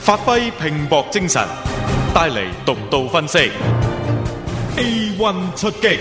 發揮拼搏精神，帶嚟獨到分析。A1 出擊。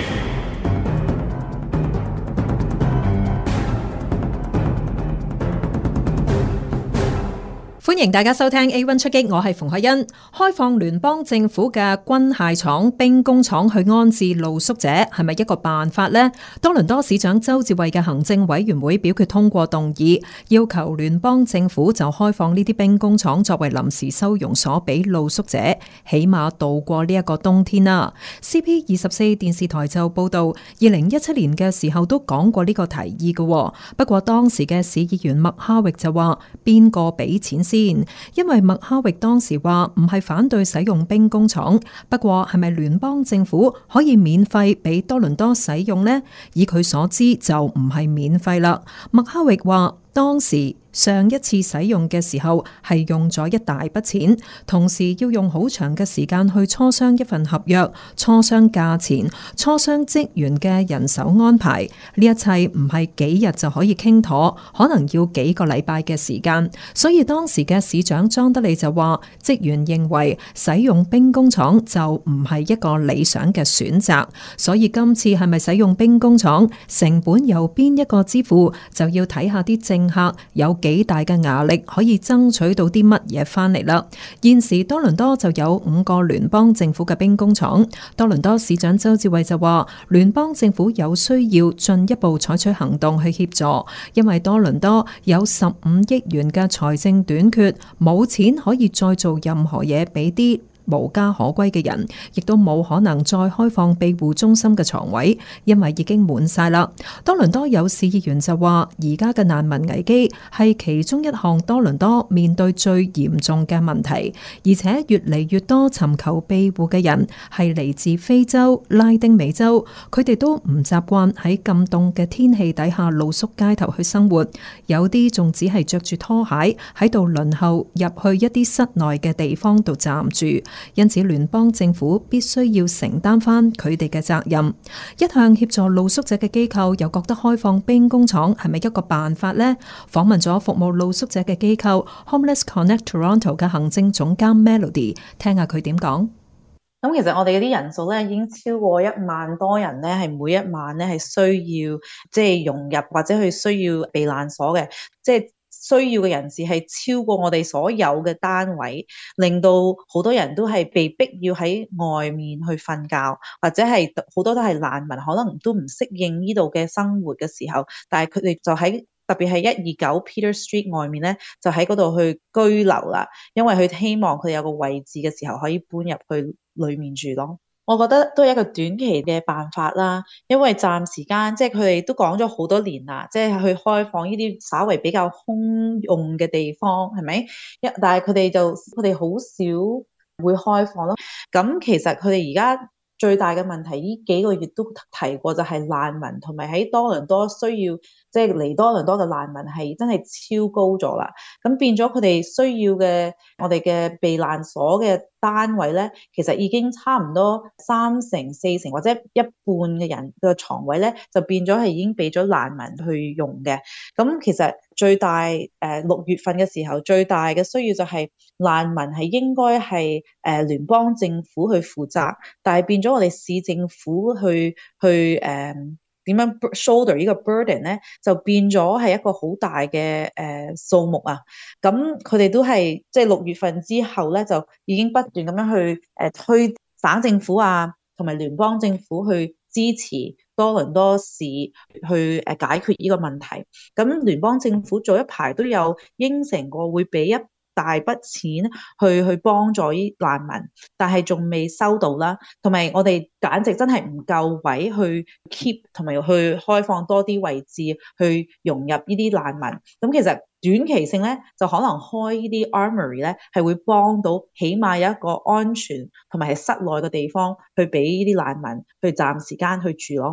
歡迎大家收聽 A1 出擊，我係馮海欣。開放聯邦政府嘅軍械廠、兵工廠去安置露宿者，係咪一個辦法呢？多倫多市長鄒至蕙嘅行政委員會表決通過動議，要求聯邦政府就開放呢啲兵工廠作為臨時收容所俾露宿者，起碼度過呢一個冬天啦。CP24 電視台就報道，2017年嘅時候都講過呢個提議嘅，不過當時嘅市議員麥哈域就話邊個俾錢先？因為麥哈域當時話唔係反對使用兵工廠，不過係咪聯邦政府可以免費俾多倫多使用呢？以佢所知就唔係免費啦。麥哈域話當時上一次使用嘅時候係用咗一大筆錢，同時要用好長嘅時間去磋商一份合約、磋商價錢、磋商職員嘅人手安排。呢一切唔係幾日就可以傾妥，可能要幾個禮拜嘅時間。所以當時嘅市長莊德利就話，職員認為使用兵工廠就唔係一個理想嘅選擇。所以今次係咪使用兵工廠，成本由邊一個支付，就要睇下啲政客有幾大嘅壓力可以爭取到啲乜嘢翻嚟啦。現時多倫多就有5個聯邦政府嘅兵工廠。多倫多市長鄒至蕙就話，聯邦政府有需要進一步採取行動去協助，因為多倫多有15億元嘅財政短缺，冇錢可以再做任何嘢俾啲無家可歸嘅人，亦都冇可能再開放庇護中心嘅床位，因為已經滿晒啦。多倫多有市議員就話，而家嘅難民危機係其中一項多倫多面對最嚴重嘅問題，而且越嚟越多尋求庇護嘅人係嚟自非洲、拉丁美洲，佢哋都唔習慣喺咁凍嘅天氣底下露宿街頭去生活，有啲仲只係着住拖鞋喺度輪候入去一啲室內嘅地方度暫住。因此聯邦政府必須要承擔翻佢哋嘅責任。一向協助露宿者嘅機構又覺得開放兵工廠係咪一個辦法呢？訪問咗服務露宿者嘅機構 Homeless Connect Toronto 嘅行政總監 Melody， 聽下佢點講。 咁其實我哋嗰啲人數咧已經超過1萬多人咧，係每一晚咧係需要融入或者去需要避難所嘅，需要嘅人士係超過我哋所有嘅單位，令到好多人都係被逼要喺外面去瞓覺，或者係好多都係難民，可能都唔適應呢度嘅生活嘅時候，但係佢哋就喺特別係129 Peter Street 外面咧，就喺嗰度去居留啦，因為佢希望佢哋有個位置嘅時候可以搬入去裡面住咯。我覺得都係一個短期嘅辦法啦，因為暫時間佢哋都講咗好多年啦，去開放呢啲稍微比較空用嘅地方，係咪？但係佢哋好少會開放咯。咁其實佢哋而家最大嘅問題，呢幾個月都提過，就係難民同埋喺多倫多需要嚟多倫多嘅難民係真係超高咗啦。咁變咗佢哋需要嘅我哋嘅避難所嘅單位咧，其實已經差唔多3成、4成或者一半嘅人嘅床位咧，就變咗係已經俾咗難民去用嘅。咁其實最大6月份嘅時候，最大嘅需要就係難民係應該係聯邦政府去負責，但係變咗我哋市政府去點樣 shoulder 呢個 burden 咧，就變咗係一個好大嘅數目啊！咁佢哋都係6月份之後咧，就已經不斷咁樣去推省政府啊，同埋聯邦政府去支持多倫多市去解決呢個問題。咁聯邦政府早一排都有應承過會俾一大筆錢去幫助呢難民，但係仲未收到啦。同埋我哋簡直真係唔夠位去 keep，同埋去開放多啲位置去融入呢啲難民。咁其實短期性咧，就可能開呢啲 armory 咧，係會幫到起碼有一個安全同埋係室內嘅地方去俾呢啲難民去暫時間去住咯。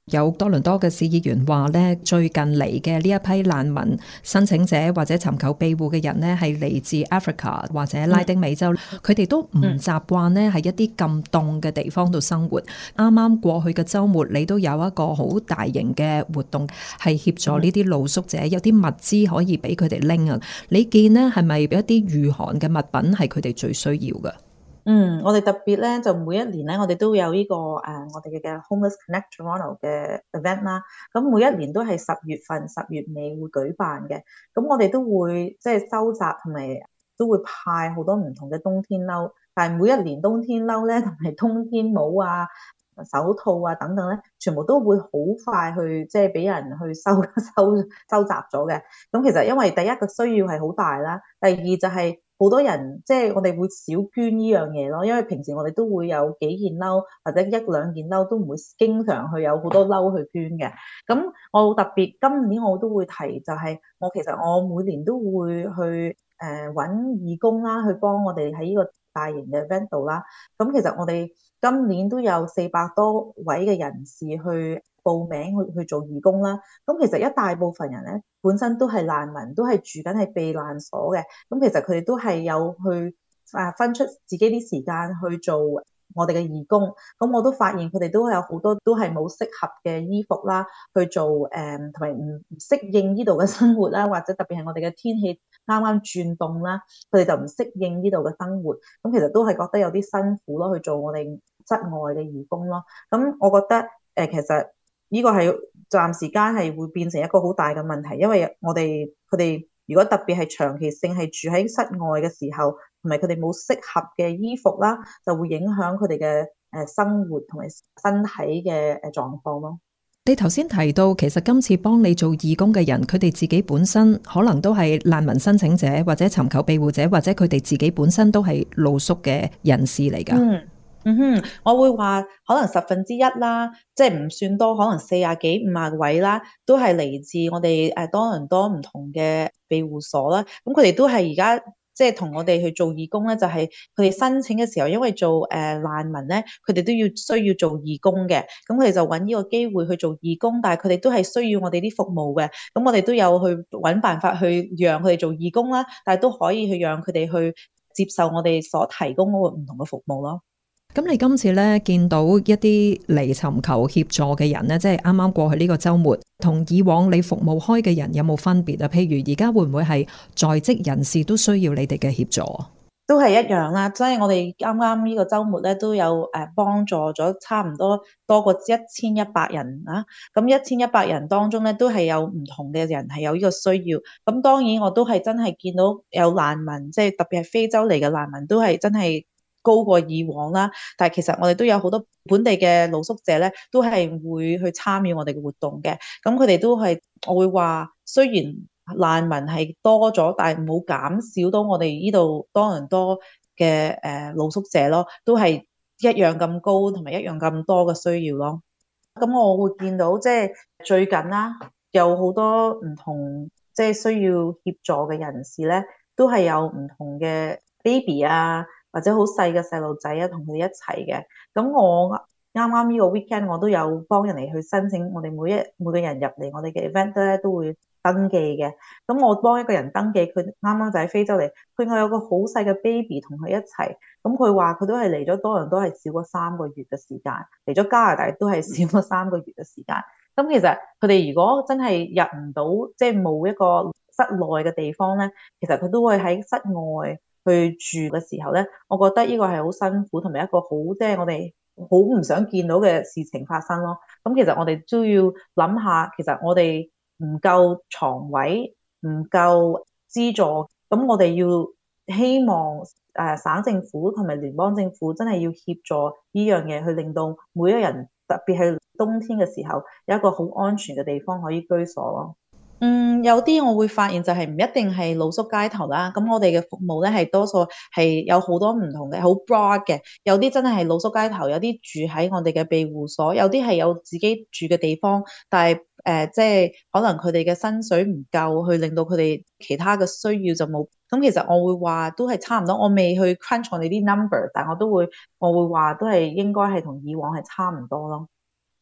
有多倫多嘅市議員話咧，最近嚟嘅呢一批難民申請者或者尋求庇護嘅人呢，係嚟自 Africa 或者拉丁美洲，佢哋都唔習慣呢喺一啲咁凍嘅地方度生活。啱啱過去嘅週末，你都有一個好大型嘅活動，係協助呢啲露宿者，有啲物資可以俾佢哋拎啊。你見呢係咪一啲御寒嘅物品係佢哋最需要嘅？ 我哋特別咧，就每一年咧，我哋都有呢個我哋嘅 Homeless Connect Toronto 嘅 event 啦。咁每一年都係10月份、10月尾會舉辦嘅。咁我哋都會即係收集同埋都會派好多唔同嘅冬天褸。但係每一年冬天褸咧，同埋冬天帽啊、手套啊等等咧，全部都會好快去即係俾人去收集咗嘅。咁其實因為第一個需要係好大啦，第二就係好多人即係我哋會少捐呢樣嘢咯，因為平時我哋都會有幾件褸或者一兩件褸，都唔會經常去有好多褸去捐嘅。咁我特別今年我都會提，就係其實我每年都會去揾義工啦，去幫我哋喺呢個大型嘅 event 度啦。咁其實我哋今年都有400多位嘅人士去報名去做義工啦。咁其實一大部分人咧，本身都係難民，都係住緊喺避難所嘅。咁其實佢哋都係有去分出自己啲時間去做我哋嘅義工。咁我都發現佢哋都有好多都係冇適合嘅衣服啦，去做同埋唔適應呢度嘅生活啦，或者特別係我哋嘅天氣啱啱轉凍啦，佢哋就唔適應呢度嘅生活。咁其實都係覺得有啲辛苦咯，去做我哋室外嘅義工咯。咁我覺得其實呢個係暫時間係會變成一個好大嘅問題，因為佢哋如果特別係長期性係住喺室外嘅時候，同埋佢哋冇適合嘅衣服啦，就會影響佢哋嘅生活同埋身體嘅狀況咯。 你頭先提到，其實今次幫你做義工嘅人，佢哋自己本身可能都係難民申請者，或者尋求庇護者，或者佢哋自己本身都係露宿嘅人士嚟㗎。 我會話可能1/10啦，即係唔算多，可能40幾50位啦，都係嚟自我哋多倫多唔同嘅庇護所啦。咁佢哋都係而家即係同我哋去做義工咧，就係佢哋申請嘅時候，因為做難民咧，佢哋都需要做義工嘅。咁佢哋就揾呢個機會去做義工，但係佢哋都係需要我哋啲服務嘅。咁我哋都有去揾辦法去讓佢哋做義工啦，但係都可以去讓佢哋去接受我哋所提供嗰個唔同嘅服務咯。 咁你今次咧見到一啲嚟尋求協助嘅人咧，即係啱啱過去呢個週末，同以往你服務開嘅人有冇分別啊？譬如而家會唔會係在職人士都需要你哋嘅協助？ 都係一樣啦，即係我哋啱啱呢個週末咧都有幫助咗差唔多多過1100人啊。咁1100人當中咧都係有唔同嘅人係有呢個需要。咁當然我都係真係見到有難民，即係特別係非洲嚟嘅難民都係真係高過以往啦，但係其實我哋都有好多本地嘅露宿者咧，都係會去參與我哋嘅活動嘅。咁佢哋都係，我會話雖然難民係多咗，但係冇減少到我哋呢度多倫多嘅露宿者咯，都係一樣咁高同埋一樣咁多嘅需要咯。咁我會見到即係最近啦，有好多唔同即係需要協助嘅人士咧，都係有唔同嘅 baby 啊，或者好細嘅細路仔啊，同佢哋一齊嘅。咁我啱啱呢個 weekend 我都有幫人哋去申請，我哋每個人入嚟我哋嘅 event 咧都會登記嘅。咁我幫一個人登記，佢啱啱就喺非洲嚟，佢有個好細嘅 baby 同佢一齊。咁佢話佢都係嚟咗多倫多係少過3個月嘅時間，嚟咗加拿大都係少過3個月嘅時間。咁其實佢哋如果真係入唔到，即係冇一個室內嘅地方咧，其實佢都會喺室外去住嘅時候咧，我覺得呢個係好辛苦，同埋一個好即係我哋好唔想見到嘅事情發生咯。咁其實我哋都要諗下，其實我哋唔夠床位，唔夠資助，咁我哋要希望省政府同埋聯邦政府真係要協助呢樣嘢，去令到每一人，特別係冬天嘅時候，有一個好安全嘅地方可以居所咯。有啲我會發現就係唔一定係露宿街頭啦，咁我哋嘅服務咧係多數係有好多唔同嘅，好 broad 嘅，有啲真係露宿街頭，有啲住喺我哋嘅庇護所，有啲係有自己住嘅地方，但係即係可能佢哋嘅薪水唔夠，去令到佢哋其他嘅需要就冇。咁其實我會話都係差唔多，我未去 crunch 我哋啲 number， 但我會話都係應該係同以往係差唔多咯。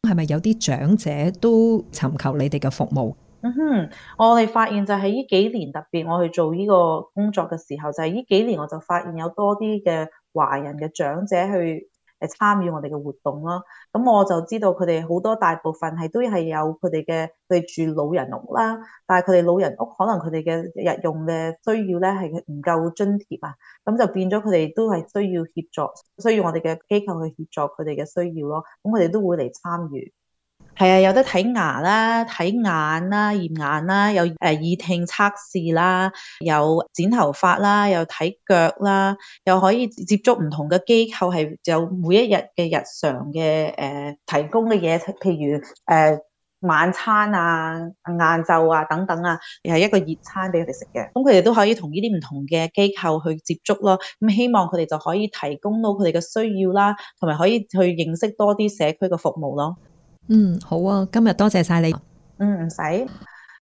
係咪有啲長者都尋求你哋嘅服務？ 我哋發現就係呢幾年，特別我去做呢個工作嘅時候，就係呢幾年我就發現有多啲嘅華人嘅長者去參與我哋嘅活動啦。咁我就知道佢哋好多大部分都係有佢哋住老人屋啦，但係佢哋老人屋可能佢哋嘅日用嘅需要咧係唔夠津貼啊，咁就變咗佢哋都係需要協助，需要我哋嘅機構去協助佢哋嘅需要咯。咁佢哋都會嚟參與。係啊，有得睇牙啦、睇眼啦、驗眼啦，有耳聽測試啦，有剪頭髮啦，有睇腳啦，又可以接觸唔同嘅機構，係有每一日嘅日常嘅提供嘅嘢，譬如晚餐啊、晏晝啊等等啊，又係一個熱餐俾佢哋食嘅。咁佢哋都可以同呢啲唔同嘅機構去接觸咯。咁希望佢哋就可以提供到佢哋嘅需要啦，同埋可以去認識多啲社區嘅服務咯。 好啊，今日多謝晒你。 唔使。